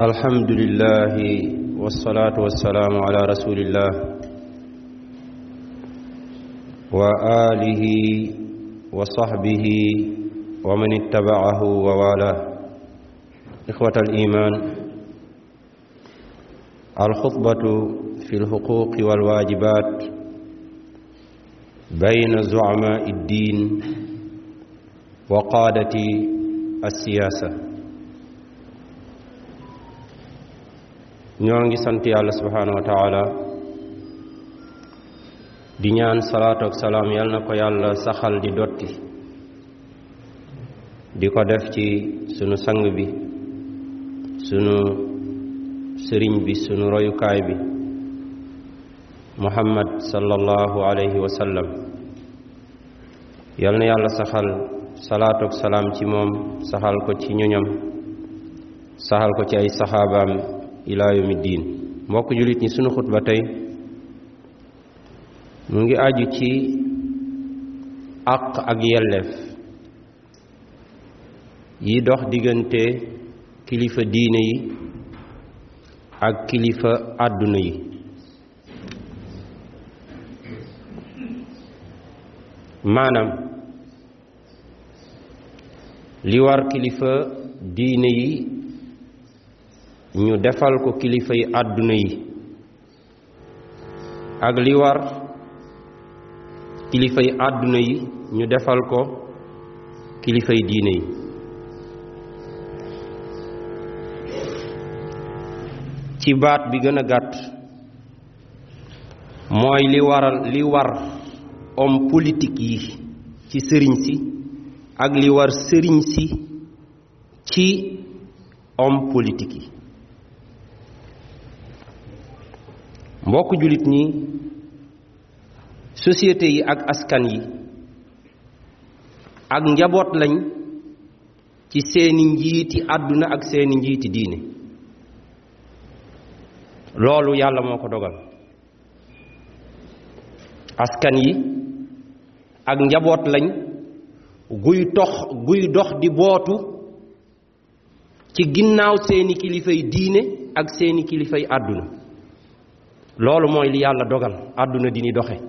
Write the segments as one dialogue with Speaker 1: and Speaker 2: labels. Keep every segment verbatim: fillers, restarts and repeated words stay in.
Speaker 1: الحمد لله والصلاة والسلام على رسول الله وآله وصحبه ومن اتبعه ووالاه. إخوة الإيمان، الخطبة في الحقوق والواجبات بين زعماء الدين وقادة السياسة. ñoo ngi sant yàlla subhanahu wa taala di ñaan salaatu ak salaam yal na ko yàlla saxal di dotti di ko def ci sunu sang bi, sunu sëriñ bi, sunu royukaay bi muhammad sallallahu alayhi wa sallam. yal na yàlla saxal salaatu ak salaam ci moom, saxal ko ci ñoñam, saxal ko ci ay saxaabaam ilaa yawmi diin. mbokk jullit ñi, sunu xutba tey mu ngi aju ci àq ak yelleef yi dox diggante kilifa diine yi ak kilifa àdduna yi. maanaam li war kilifa diine yi ñu defal ko kilifa yi àdduna yi ak li war kilifa yi àdduna yi ñu defal ko kilifa yi diine yi. ci baat bi gën a gàtt mooy li waral li war homme politique yi ci sëriñ si ak li war sëriñ si ci homme politique yi. mbokk jullit ñi, société yi ak askan yi ak njaboot lañ ci seeni njiiti àdduna ak seeni njiiti diine. loolu yàlla moo ko dogal. askan yi ak njaboot lañ guy tox guy dox di bootu ci ginnaaw seeni kilifay diine ak seeni kilifay àdduna. loolu mooy li yàlla dogal àdduna di ni doxe.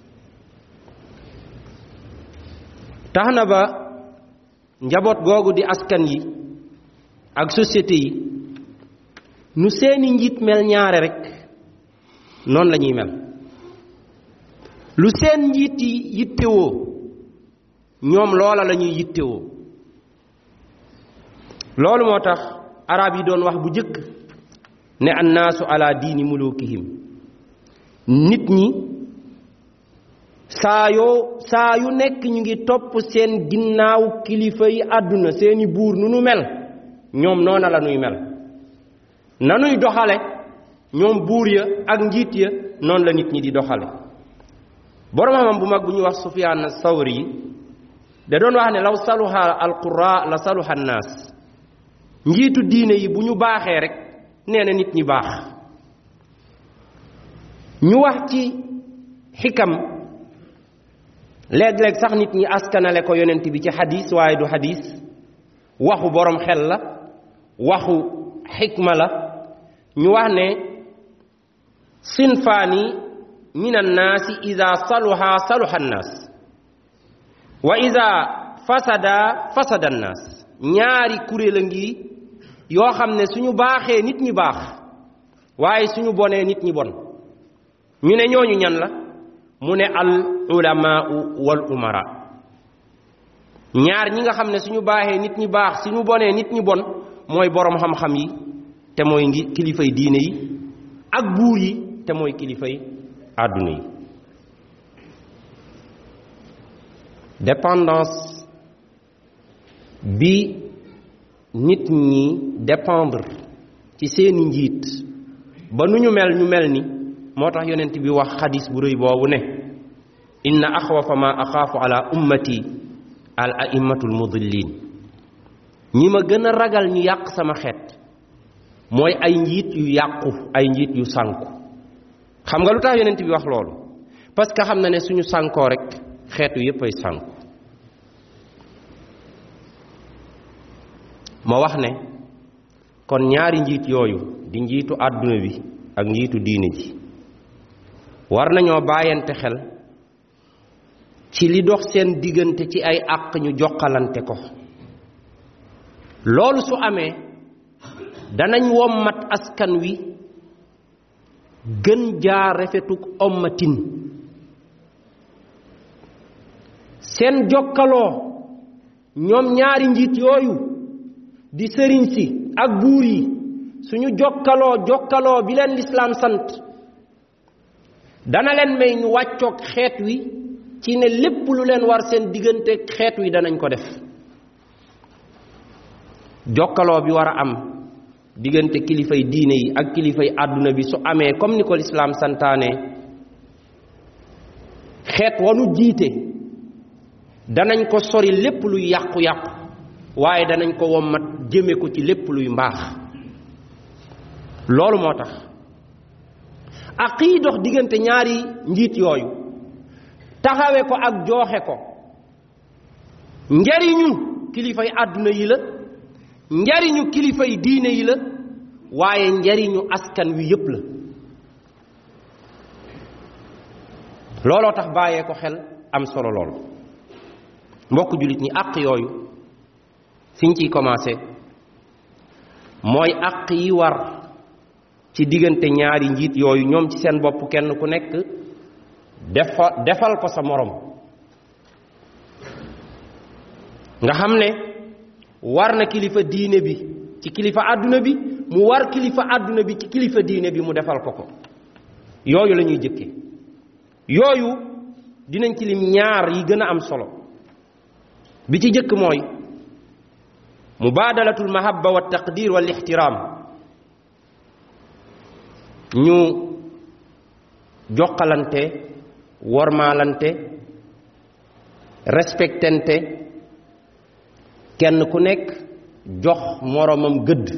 Speaker 1: tax na ba njaboot googu di askan yi ak société yi nu seeni njiit mel ñaare rekk noonu la ñuy mel. lu seen njiit yi yittewoo ñoom loola la ñuy yittewoo. loolu moo tax arab yi doon wax bu jëkk ne annaasu ala diini mulukihim. nit ñi saa yoo saa yu nekk ñu ngi topp seen ginnaaw kilifa yi àdduna, seeni buur nu nu mel ñoom noona la nuy mel. nanuy doxale ñoom buur ya ak njiit ya noonu la nit ñi di doxale. borom xam bu mag bu ñuy wax Sufyaan Sawri da doon wax ne law saluha alqura la saluha annaas. njiitu diine yi bu ñu baaxee rek nee na nit ñi baax. ñu wax ci xikam léeg-léeg sax nit ñi askanale ko yonent bi ci xadis, waaye du xadis, waxu borom xel la, waxu xikma la. ñu wax ne sinfaani min annaasi ida saluha saluha annaas wa ida fasada fasada annaas. ñaari kuréel a ngi yoo xam ne suñu baaxee nit ñi baax, waaye suñu bonee nit ñi bon. ñu ne ñooñu ñan la? mu ne al ulamaau wal umara. ñaar ñi nga xam ne suñu baaxee nit ñi baax, suñu bonee nit ñi bon mooy boroom xam-xam yi te mooy ngi kilifay diine yi ak buur yi te mooy kilifay àdduna yi. dépendance bi nit ñi dépendre ci seeni njiit ba nu ñu mel ñu mel ni moo tax yonent bi wax xadis bu rëy boobu ne inna axwafa ma axaafu ala ummati al aimmatul mudillin. ñi ma gën a ragal ñu yàq sama xeet mooy ay njiit yu yàqu, ay njiit yu sànku. xam nga lu tax yonent bi wax loolu? parce que xam na ne suñu sànkoo rek xeetu yépp ay sànku. ma wax ne kon ñaari njiit yooyu di njiitu àdduna bi ak njiitu diine ji war nañoo bàyyante xel ci li dox seen diggante ci ay àq ñu jokkalante ko. loolu su amee danañ wommat askan wi gën jaa rafetuk ommatin. seen jokkaloo ñoom ñaari njiit yooyu di sëriñ si ak buur yi suñu jokkaloo jokkaloo bi leen lislaam sant dana leen may ñu wàccoog xeet wi ci ne lépp lu leen war seen diggante xeet wi danañ ko def. jokkaloo bi war a am diggante kilifay diine yi ak kilifay àdduna bi su amee comme ni ko lislaam santaane xeet wanu jiite danañ ko sori lépp luy yàqu-yàqu waaye danañ ko wommat jëme ko ci lépp luy mbaax. loolu moo tax ak yi dox diggante ñaari njiit yooyu taxawe ko ak jooxe ko njariñu kilifay àdduna yi la, njariñu kilifay diine yi la, waaye njariñu askan wi yépp la. looloo tax bàyyee ko xel am solo lool. mbokk jullit ñi àq yooyu fiñ ciy commencé mooy àq yi war ci diggante ñaari njiit yooyu ñoom ci seen bopp kenn ku nekk defa defal ko sa morom. nga xam ne war na kilifa diine bi ci kilifa àdduna bi, mu war kilifa àdduna bi ci kilifa diine bi mu defal ko ko. yooyu la ñuy jëkke yooyu dinañ ci lim ñaar yi gën a am solo. bi ci jëkk mooy mubaadalatul mahabba wa taqdir wal ixtiraam. ñu jokkalante wormaalante respectante kenn ku nekk jox moromam gëdd.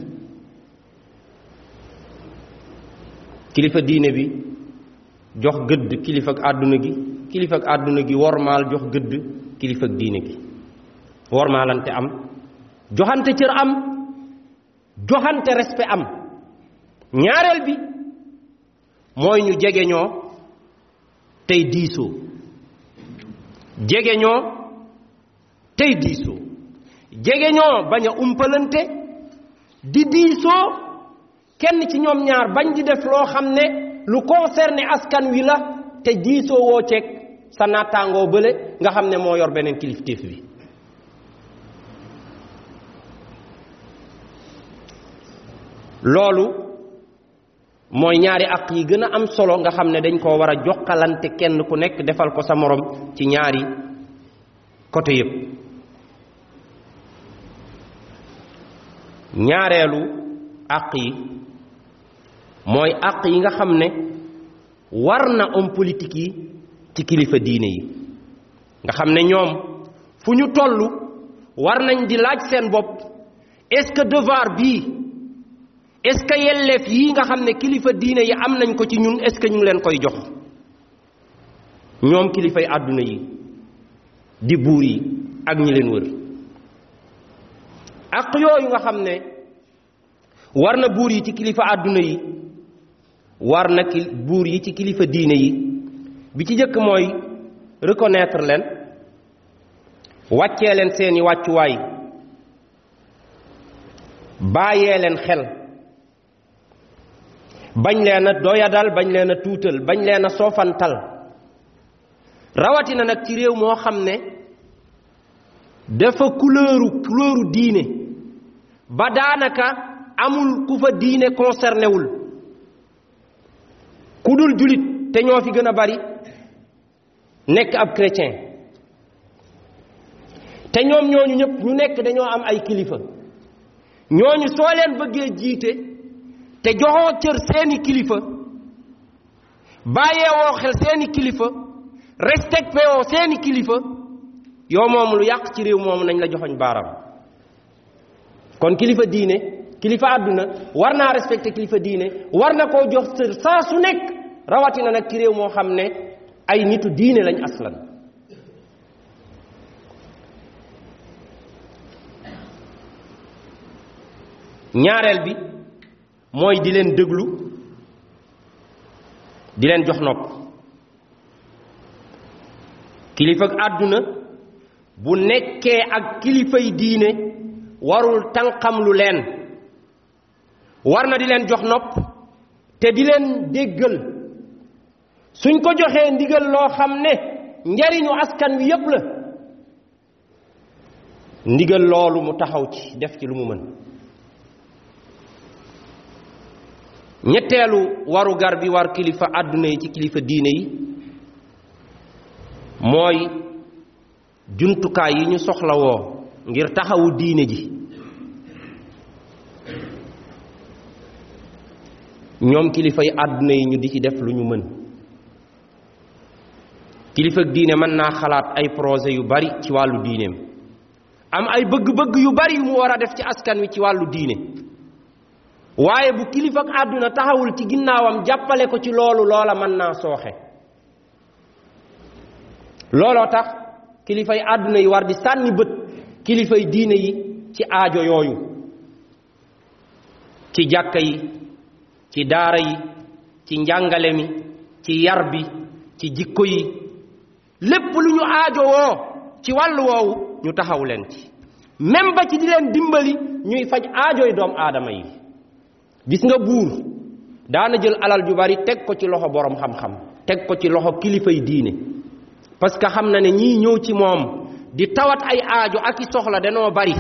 Speaker 1: kilifa diine bi jox gëdd kilifa ak àdduna gi, kilifa ak àdduna gi wormaal jox gëdd kilifa ak diine gi. wormaalante am, joxante cër am, joxante respect am. ñaareel bi mooy ñu jegeñoo tey diisoo jegeñoo tey diisoo jegeñoo bañ a umpalante di diisoo kenn ci ñoom ñaar bañ di def loo xam ne lu concerné askan wi la te diisoo woo ceeg sa nattaangoo bële nga xam ne moo yor beneen kilifteef bi. loolu mooy ñaari àq yi gën a am solo nga xam ne dañ koo war a jokkalante kenn ku nekk defal ko sa morom ci ñaari côté yépp. ñaareelu àq yi mooy àq yi nga xam ne war na homme politique yi ci kilifa diine yi nga xam ne ñoom fu ñu toll war nañ di laaj seen bopp est-ce que devoir bii est-ce que yelleef yi nga xam ne kilifa diine yi am nañ ko ci ñun est-ce que ñu ngi leen koy jox ñoom kilifay àdduna yi di buur yi ak ñi leen wër. ak yooyu nga xam ne war na buur yi ci kilifa àdduna yi war na ki buur yi ci kilifa diine yi bi ci jëkk mooy reconnaître leen, wàccee leen seeni wàccuwaay, bàyyee leen xel, bañ leen a doyadal, bañ leen a tuutal, bañ leen a soofantal. rawatina nag ci réew moo xam ne dafa couleuru couleuru diine ba daanaka amul ku fa diine concerné wul ku dul julit te ñoo fi gën a bari nekk ab chrétien te ñoom ñooñu ñëpp ñu nekk dañoo am ay kilifa. ñooñu soo leen bëggee jiite te joxoo cër seeni kilifa, bàyyeewoo xel seeni kilifa, respecté woo seeni kilifa, yow moom lu yàq ci réew moomu nañ la joxoñ baaram. kon kilifa diine kilifa àdduna war naa respecté kilifa diine, war na koo jox cër saa su nekk, rawatina nag ci réew moo xam ne ay nitu diine lañ aslan. ñaareel bi mooy di leen déglu di leen jox nopp kilifa ak àdduna bu nekkee ak kilifay diine warul tànqam lu leen war na di leen jox nopp te di leen déggal suñ ko joxee ndigal loo xam ne njariñu askan wi yépp la ndigal loolu mu taxaw ci def ci lu mu mën ñetteelu waru gar bi war kilifa àdduna yi ci kilifa diine yi mooy jumtukaay yi ñu soxlawoo ngir taxawu diine ji ñoom kilifa yi àdduna yi ñu di ci def lu ñu mën kilifa diine mën naa xalaat ay projet yu bari ci wàllu diineem am ay bëgg-bëgg yu bari yu mu war a def ci askan wi ci wàllu diine waaye bu kilifa ak àdduna taxawul ci ginnaawam jàppale ko ci loolu loola mën naa sooxe looloo tax kilifa yi àdduna yi war di sànni bët kilifa yi diine yi ci aajo yooyu ci jàkka yi ci daara yi ci njàngale mi ci yar bi ci jikko yi lépp lu ñu aajo woo ci wàllu woowu ñu taxaw leen ci même ba ci di leen dimbali ñuy faj aajoy doom aadama yi gis nga buur daana jël alal ju bari teg ko ci loxo borom xam-xam teg ko ci loxo kilifa yi diine parce que xam na ne ñii ñëw ci moom di tawat ay aajo ak i soxla danoo bari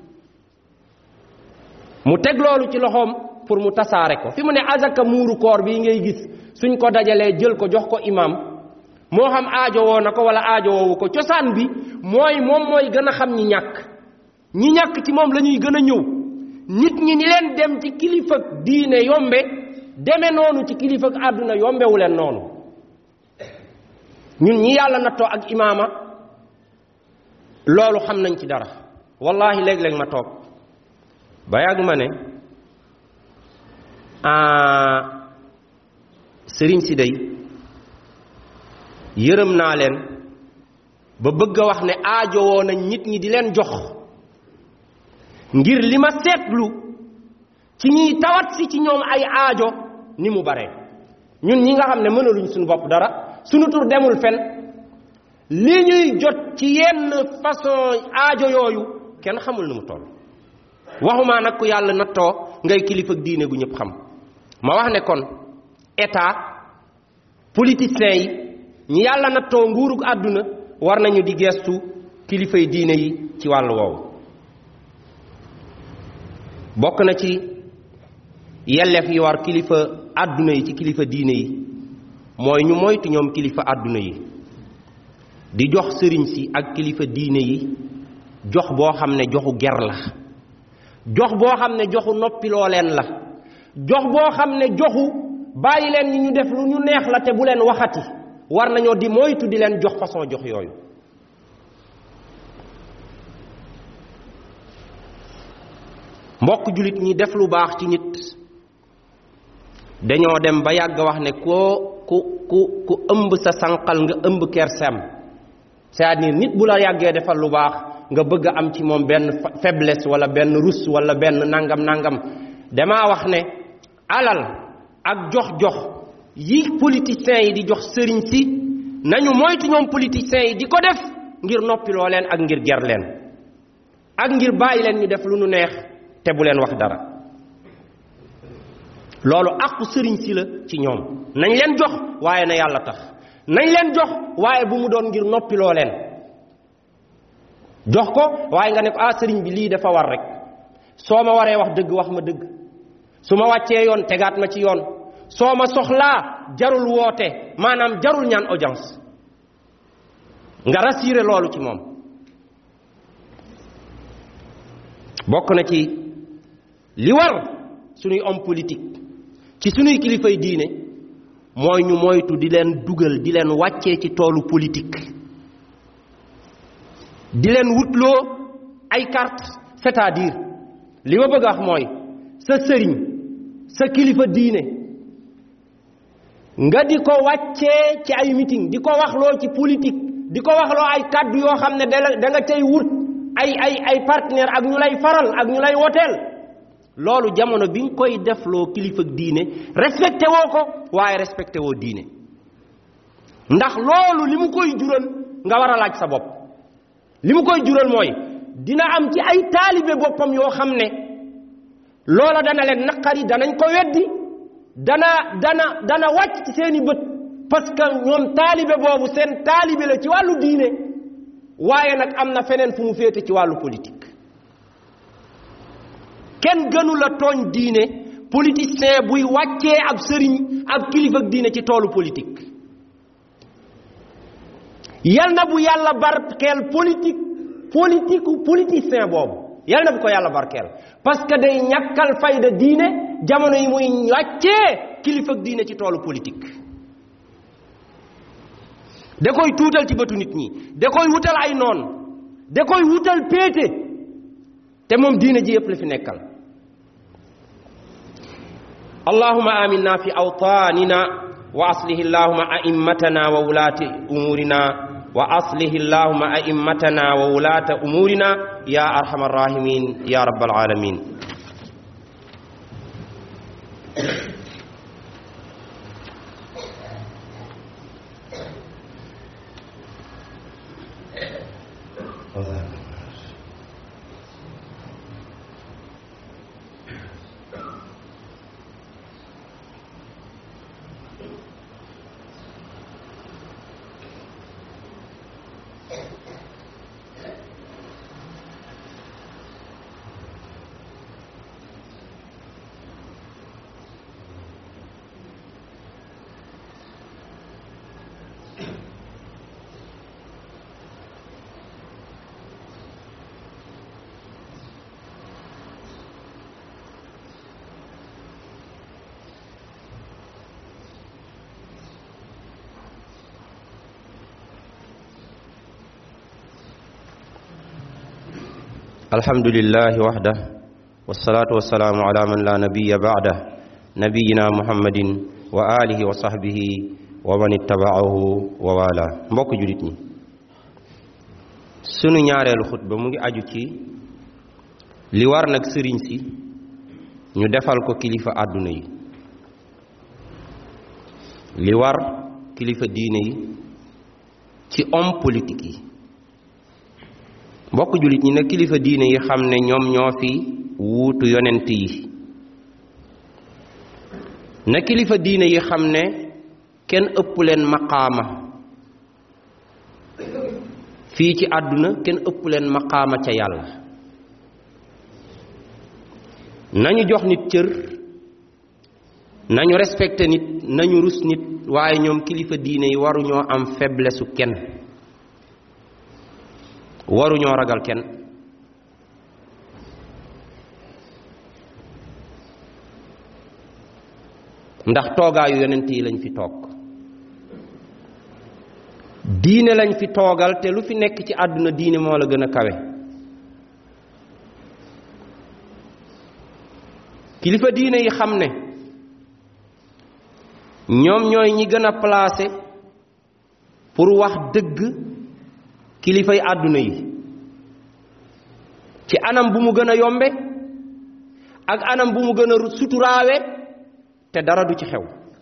Speaker 1: mu teg loolu ci loxoom pour mu tasaare ko fi mu ne azaka muuru koor bii ngay gis suñ ko dajalee jël ko jox ko imam moo xam aajo woo na ko wala aajo woowu ko cosaan bi mooy moom mooy gën a xam ñi ñàkk ñi ñàkk ci moom la ñuy gën a ñëw nit ñi ni leen dem ci kilifa diine yombe deme noonu ci kilifa àdduna yombewu leen noonu ñun ñi yàlla nattoo ak imaama loolu xam nañ ci dara wallahi léeg-léeg ma toog ba yàgg ma ne sëriñ si day yërëm naa leen ba bëgg a wax ne aajowoo nañ nit ñi di leen jox ngir li ma seetlu ci ñiy tawat si ci ñoom ay aajo ni mu bare ñun ñi nga xam ne mënaluñ suñu bopp dara suñu tur demul fen li ñuy jot ci yenn façon aajo yooyu kenn xamul nu mu toll waxuma nag ku yàlla nattoo ngay kilifa diine gu ñëpp xam ma wax ne kon état politiciens yi ñi yàlla nattoo nguurug àdduna war nañu di gestu kilifay diine yi ci wàllu woowu bokk na ci yelleef yi war kilifa àdduna yi ci kilifa diine yi mooy ñu moytu ñoom kilifa àdduna yi di jox sëriñ si ak kilifa diine yi jox boo xam ne joxu ger la jox boo xam ne joxu noppiloo leen la jox boo xam ne joxu bàyyi leen ni ñu def lu ñu neex la te bu leen waxati war nañoo di moytu di leen jox façon jox yooyu mbokk julit ñi def lu baax ci nit dañoo dem ba yàgg wax ne koo ku ku ku ëmb sa sànqal nga ëmb kersem c'est-à-dire nit bu la yàggee defal lu baax nga bëgg a am ci moom benn faiblesse wala benn rus wala benn nangam nangam damaa wax ne alal ak jox-jox yi politiciens yi di jox sëriñ si nañu moytu ñoom politiciens yi di ko def ngir noppiloo leen ak ngir ger leen ak ngir bàyyi leen ñu def lu nu neex te bu leen wax dara loolu àqu sëriñ si la ci ñoom nañ leen jox waaye na yàlla tax nañ leen jox waaye bu mu doon ngir noppiloo leen jox ko waaye nga ne ko ah sëriñ bi lii dafa war rek soo ma waree wax dëgg wax ma dëgg su ma wàccee yoon tegaat ma ci yoon soo ma soxlaa jarul woote maanaam jarul ñaan audience nga rassuré loolu ci moom bokk na ci li war suñuy homme politique ci suñuy kilifay diine mooy ñu moytu di leen dugal di leen wàccee ci toolu politique di leen wutloo ay carte c'est-à-dire li ma bëgg a wax mooy sa sëriñ sa kilifa diine nga di ko wàccee ci ay meeting di ko waxloo ci politique di ko waxloo ay kàddu yoo xam ne da nga cay wut ay ay ay partenaire ak ñu lay faral ak ñu lay woteel loolu jamono bi nga koy defloo kilifa diine respecté woo ko waaye respecté woo diine ndax loolu li mu koy jural nga war a laaj sa bopp li mu koy jural mooy dina am ci ay taalibe boppam yoo xam ne loola dana leen naqari danañ ko weddi dana dana dana wàcc ci seeni bët parce que ñoom taalibe boobu seen taalibe la ci wàllu diine waaye nag am na feneen fu mu féete ci wàllu politique kenn gënu la tooñ diine politicien buy wàccee ab sëriñ ab kilifa diine ci toolu politique yal na bu yàlla barkeel politique politique politicien boobu yal na bu ko yàlla barkeel parce que day ñàkkal fayda diine jamono yi muy wàccee kilifa diine ci toolu politique da koy tuutal ci bëtu nit ñi da koy wutal ay noon da koy wutal péete te moom diine ji yëpp la fi nekkal allahumma aminna fi awtanina wa aslih allahumma a'immatana wa wulati umurina wa aslih allahumma a'immatana wa wulata umurina ya arhamar rahimin ya rabbal alamin الحمد لله وحده والصلاة والسلام على من لا نبي بعده نبينا محمد وآله وصحبه ومن اتبعه ووالاه mbokk julit ñi sunu ñaareelu xutba mu ngi aju ci li war nag sëriñ si ñu defal ko kilifa àdduna yi li war kilifa diine yi ci homme politique yi mbokk julit ñi nag kilifa diine yi xam ne ñoom ñoo fi wuutu yonent yi na kilifa diine yi xam ne kenn ëpp leen maqaama fii ci àdduna kenn ëpp leen maqaama ca yàlla nañu jox nit cër nañu respecté nit nañu rus nit waaye ñoom kilifa diine yi waruñoo am faiblesse kenn waruñoo ragal kenn ndax toogaayu yonent yi lañ fi toog diine lañ fi toogal te lu fi nekk ci àdduna diine moo la gën a kawe kilifa diine yi xam ne ñoom ñooy ñi gën a placé pour wax dëgg kilifay àdduna yi ci anam bu mu gën a yombe ak anam bu mu gën a suturaawe te dara du ci xew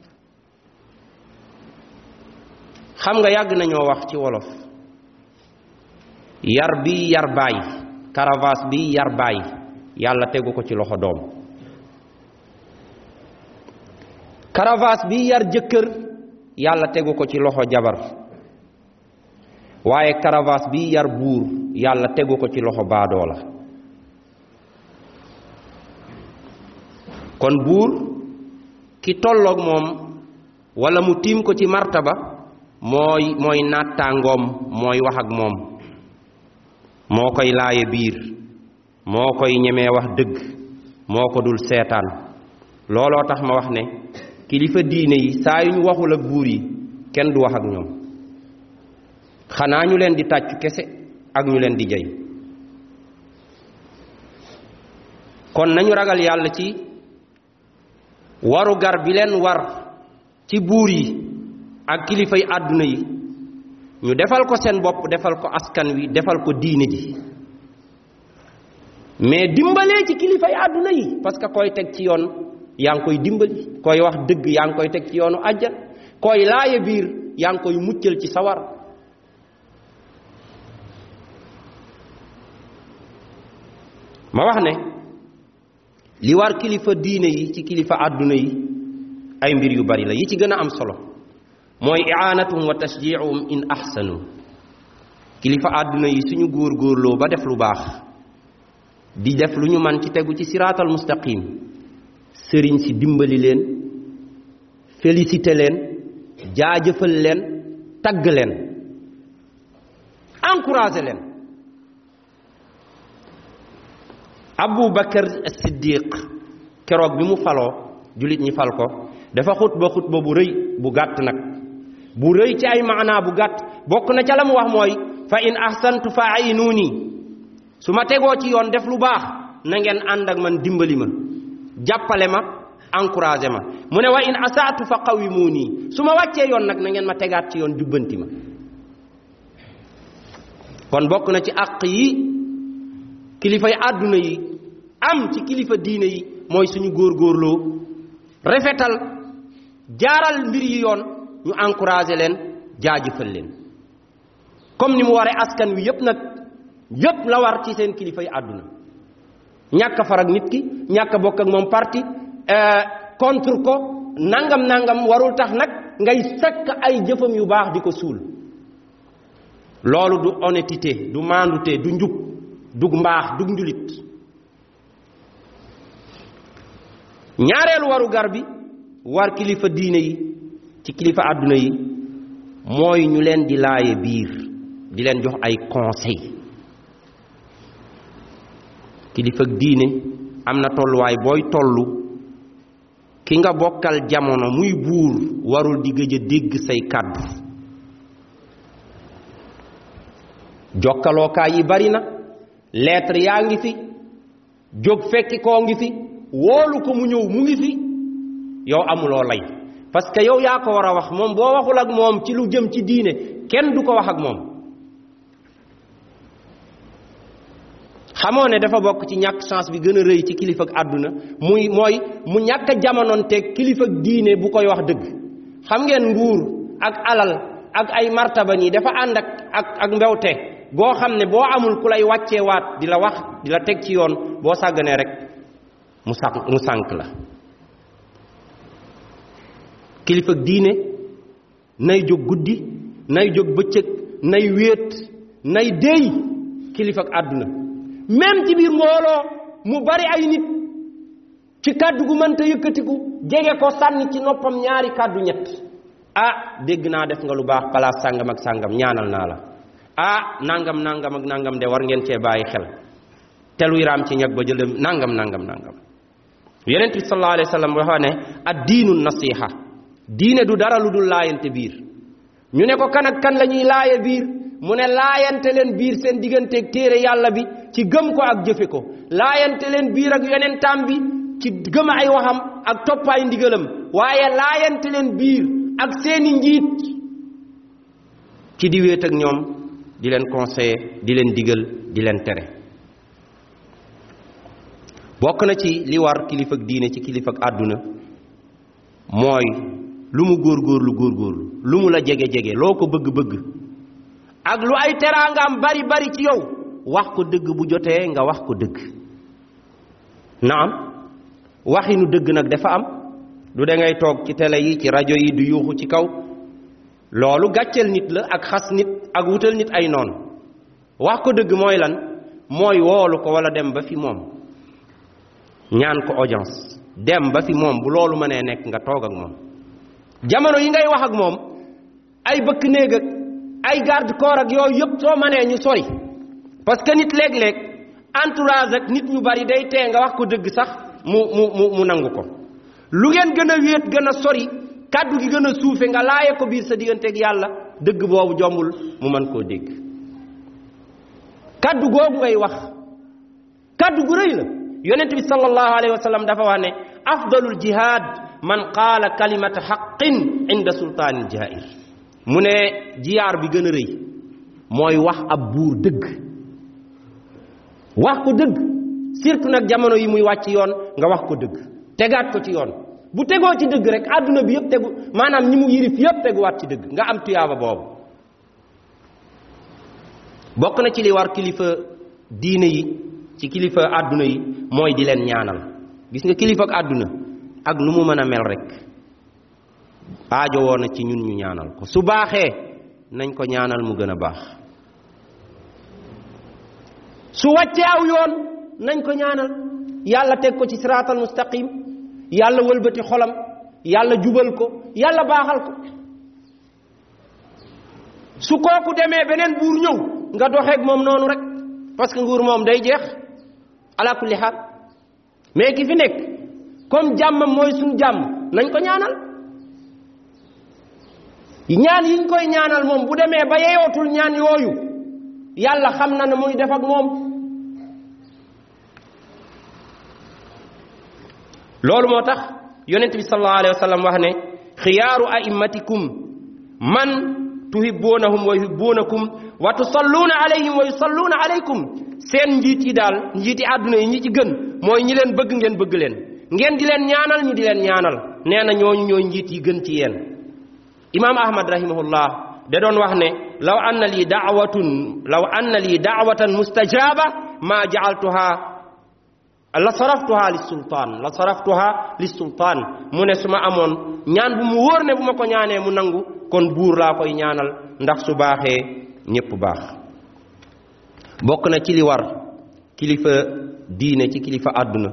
Speaker 1: xam nga yàgg nañoo wax ci wolof yar bi yar baay caravas bi yar baay yàlla tegu ko ci loxo doom caravas bi yar jëkkër yàlla tegu ko ci loxo jabar waaye caravas bi yar buur yàlla tegu ko ci loxo baadoola kon buur ki tolloog moom wala mu tiim ko ci martaba mooy mooy nattaangoom mooy wax ak moom moo koy laaye biir moo koy ñemee wax dëgg moo ko dul seetaan looloo tax ma wax ne kilifa diine yi saa yu ñu waxul ak buur yi kenn du wax ak ñoom xanaa ñu leen di tàccu kese ak ñu leen di jey kon nañu ragal yàlla ci waru gar bi leen war ci buur yi ak kilifay àdduna yi ñu defal ko seen bopp defal ko askan wi defal ko diine ji mais dimbalee ci kilifay àdduna yi parce que koy teg ci yoon yaa ngi koy dimbali, koy wax dëgg yaa ngi koy teg ci yoonu àjjan, koy laaye biir yaa ngi koy muccal ci sawar. ma wax ne li war kilifa diine yi ci kilifa àdduna yi ay mbir yu bari la. yi ci gën a am solo mooy i'aanatuhum wa tashji'uhum in ahsanu. kilifa àdduna yi suñu góorgóorloo ba def lu baax, di def lu ñu man ci tegu ci siraatal mustaqim, sëriñ si dimbali leen, félicité leen, jaajëfal leen, tagg leen, encouragé leen. Abu Bakar as-Siddiq keroog bi mu faloo jullit ñi fal ko dafa xutba xutba bu rëy bu gàtt nag bu rëy ci ay maanaa bu gàtt. bokk na ca la mu wax mooy fa in ahsantu fa aynuuni, su ma tegoo ci yoon def lu baax na ngeen ànd ak man dimbali ma, jàppale ma, encouragé ma. mu ne wa in asaatu fa qawimuuni, su ma wàccee yoon nag na ngeen ma tegaat ci yoon jubbanti ma. kon bokk na ci àq yi kilifa yi àdduna yi am ci kilifa diine yi mooy suñu góorgóorloo rafetal jaaral mbir yi yoon, ñu encouragé leen, jaajëfal leen comme ni mu waree askan wi yépp nag. yépp la war ci seen kilifa yi àdduna. ñàkk far ak nit ki, ñàkk bokk ak moom parti, contre ko nangam nangam warul tax nag ngay sakk ay jëfam yu baax di ko suul. loolu du honnêteté, du maandute, du njub, du mbaax, du njulit. ñaareelu waru gar bi war kilifa diine yi ci kilifa àdduna yi mooy ñu leen di laaye biir, di leen jox ay conseil. kilifa diine am na tolluwaay booy tollu ki nga bokkal jamono muy buur warul di gëj a dégg say kàddu. jokkalookaay yi bari na, lettre yaa ngi fi, jóg fekki koo ngi fi, woolu ko mu ñëw mu ngi fi, yow amuloo lay parce que yow yaa ko war a wax. moom boo waxul ak moom ci lu jëm ci diine kenn du ko wax ak moom. xamoo ne dafa bokk ci ñàkk chance bi gën a rëy ci kilifa ak àdduna muy mooy mu ñàkk a jamonoonteeg kilifa ak diine bu koy wax dëgg. xam ngeen nguur ak alal ak ay martaba nii dafa ànd ak ak ak mbewte goo xam ne boo amul ku lay wàccee waat di la wax di la teg ci yoon, boo sàgganee rek mu sànq mu sànq la. kilifa ak diine nay jóg guddi, nay jóg bëccëg, nay wéet, nay déy kilifa ak àdduna. même ci biir mbooloo mu bari ay nit ci kàddu gu mënta yëkkatiku jege ko sànni ci noppam ñaari kàddu ñett. ah dégg naa def nga lu baax palaas sàngam ak sàngam, ñaanal naa la. ah nangam nangam ak nangam de war ngeen cee bàyyi xel, te luy raam ci ñag ba jël nangam nangam nangam. yonent bi sallallahu alayhi wa sallam waxa ne ad diinu nasiha, diine du dara lu dul laayante biir. ñu ne ko kan ak kan la ñuy laaye biir, mu ne laayante leen biir seen digganteeg téere yàlla bi ci gëm ko ak jëfe ko, laayante leen biir ak yonentam bi ci gëm ay waxam ak toppaay ndigalam, waaye laayante leen biir ak seeni njiit ci di wéet ak ñoom, di leen conseiller, di leen digal, di leen tere. bokk na ci li war kilifa ak diine ci kilifa ak àdduna mooy lu mu góorgóorlu góorgóorlu, lu mu la jege jege, loo ko bëgg-bëgg ak lu ay teraangaam bari bari ci yow, wax ko dëgg bu jotee nga wax ko dëgg. naam waxinu dëgg nag dafa am, du da ngay toog ci télé yi ci rajo yi du yuuxu ci kaw. loolu gàcceel nit la ak xas nit ak wutal nit ay noon. wax ko dëgg mooy lan? mooy woolu ko wala dem ba fi moom ñaan ko audience, dem ba fi moom bu loolu mënee nekk nga toog ak moom. jamono yi ngay wax ak moom ay bëkk néeg ak ay garde corps ak yooyu yëpp soo mënee ñu sori, parce que nit léeg-léeg entourage ak nit ñu bari day tee nga wax ko dëgg sax mu mu mu mu nangu ko. lu ngeen gën a wéet gën a sori, kàddu gi gën a suufe, nga laaye ko biir sa digganteeg yàlla, dëgg boobu jombul mu mën koo dégg. kàddu googu ngay wax kàddu gu rëy la. yonent bi sallallahu alayhi wa sallam dafa wax ne afdalul jihad man qaala kalimata haqqin inda sultaanil jaa'ir. mu ne jiyaar bi gën a rëy mooy wax ab buur dëgg, wax ko dëgg surtout nag jamono yi muy wàcc yoon nga wax ko dëgg tegaat ko ci yoon bu tegoo ci dëgg rek àdduna bi yëpp tegu maanaam ñi mu yirif yëpp teguwaat ci dëgg nga am tuyaaba boobu. bokk na ci li war kilifa diine yi ci kilifa àdduna yi mooy di leen ñaanal. gis nga kilifa ak àdduna ak nu mu mën a mel rek aajo woon na ci ñun ñu ñaanal ko su baaxee nañ ko ñaanal mu gën a baax su wàccee aw yoon nañ ko ñaanal yàlla teg ko ci siraatal mustaqim yàlla wëlbati xolam yàlla jubal ko yàlla baaxal ko su kooku demee beneen buur ñëw nga doxeeg moom noonu rek parce que nguur moom day jeex ala kulli xaal mais ki fi nekk comme jàmmam mooy suñu jàmm nañ ko ñaanal ñaan yiñ koy ñaanal moom bu demee ba yeyootul ñaan yooyu yàlla xam na ne muy def ak moom. loolu moo tax yonent bi sallallahu alayhi wa sallam wax ne xiyaaru a'immatikum man tuhibbuunahum wa yuhibbuunakum wa tusalluuna alayhim wa yusalluuna alaykum seen njiit yi daal njiiti àdduna yi ñi ci gën mooy ñi leen bëgg ngeen bëgg leen ngeen di leen ñaanal ñu di leen ñaanal nee na ñooñu ñooy njiit yi gën ci yéen. imaam ahmad rahimahullah da doon wax ne law anna lii daawatun law anna lii daawatan mustajaaba maa jaaltuha la saraftuha li sultaan la saraftuha li sultaan mu ne su ma amoon ñaan bu mu wóor ne bu ma ko ñaanee mu nangu kon buur laa koy ñaanal ndax su baaxee ñépp baax. bokk na ci li war kilifa diine ci kilifa àdduna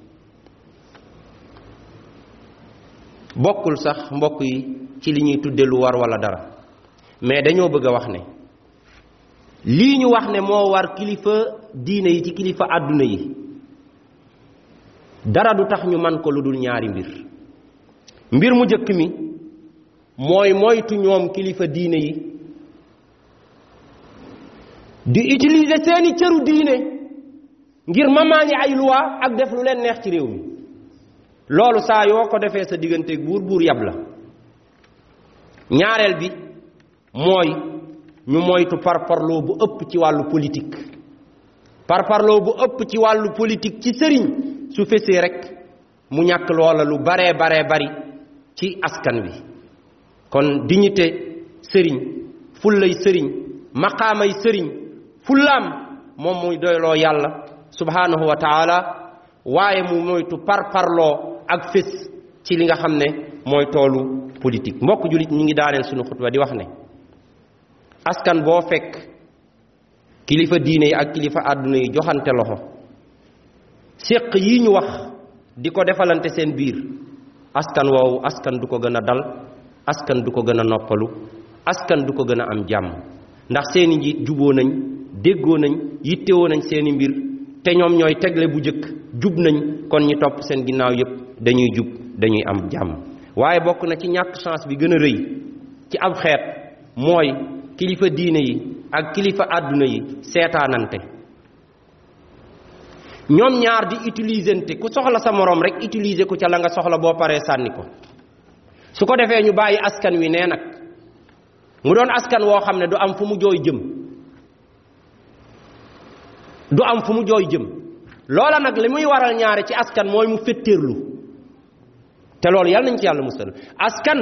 Speaker 1: bokkul sax mbokk yi ci li ñuy tudde lu war wala dara mais dañoo bëgg a wax ne lii ñu wax ne moo war kilifa diine yi ci kilifa àdduna yi dara du tax ñu man ko lu dul ñaari mbir mbir mu jëkk mi mooy moytu ñoom kilifa diine yi di utiliser seeni cëru diine ngir mamaani ay loi ak def lu leen neex ci réew mi loolu saa yoo ko defee sa digganteeg buur buur yab la. ñaareel bi mooy ñu moytu parparloo bu ëpp ci wàllu politique parparloo bu ëpp ci wàllu politique ci sëriñ su fesee rek mu ñàkk loola lu baree baree bari ci askan wi. kon dignité sëriñ fullay sëriñ maqaamay sëriñ fullaam moom muy doyloo yàlla subhanahu wa taala waaye mu moytu parparloo ak fés ci li nga xam ne mooy toolu politique. mbokk julit ñi ngi daaneel sunu xutba di wax ne askan boo fekk kilifa diine yi ak kilifa àdduna yi joxante loxo séq yi ñu wax di ko defalante seen biir askan woowu askan du ko gën a dal askan du ko gën a noppalu askan du ko gën a am jàmm ndax seeni njiit juboo nañ déggoo nañ yittewoo nañ seeni mbir te ñoom ñooy tegle bu jëkk jub nañ kon ñi topp seen ginnaaw yépp dañuy jub dañuy am jàmm. waaye bokk na ci ñàkk chance bi gën a rëy ci ab xeet mooy kilifa diine yi ak kilifa àdduna yi seetaanante ñoom ñaar di utilisante ku soxla sa moroom rek utiliser ko ca la nga soxla boo paree sànni ko su ko defee ñu bàyyi askan wi nee nag mu doon askan woo xam ne du am fu mu jooy jëm du am fu mu jooy jëm loola nag li muy waral ñaare ci askan mooy mu fetteerlu te loolu yàlla nañ ci yàlla musal askan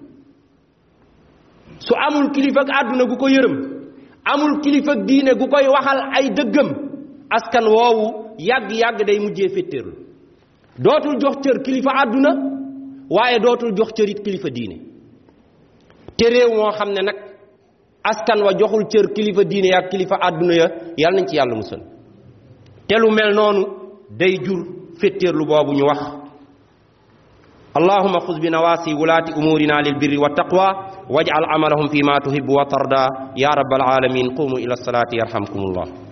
Speaker 1: su amul kilifa ak àdduna gu ko yërëm amul kilifa ak diine gu koy waxal ay dëggam askan woowu yàgg-yàgg day mujjee fetteerlu dootul jox cër kilifa àdduna waaye dootul jox cër it kilifa diine te réew moo xam ne nag askan wa joxul cër kilifa diine ya ak kilifa àdduna ya yàlla nañ ci yàlla musal te lu mel noonu day jur fetteerlu boobu ñu wax. اللهم خذ بنواسي ولاة أمورنا للبر والتقوى واجعل عملهم فيما تحب وترضى يا رب العالمين. قوموا إلى الصلاة يرحمكم الله.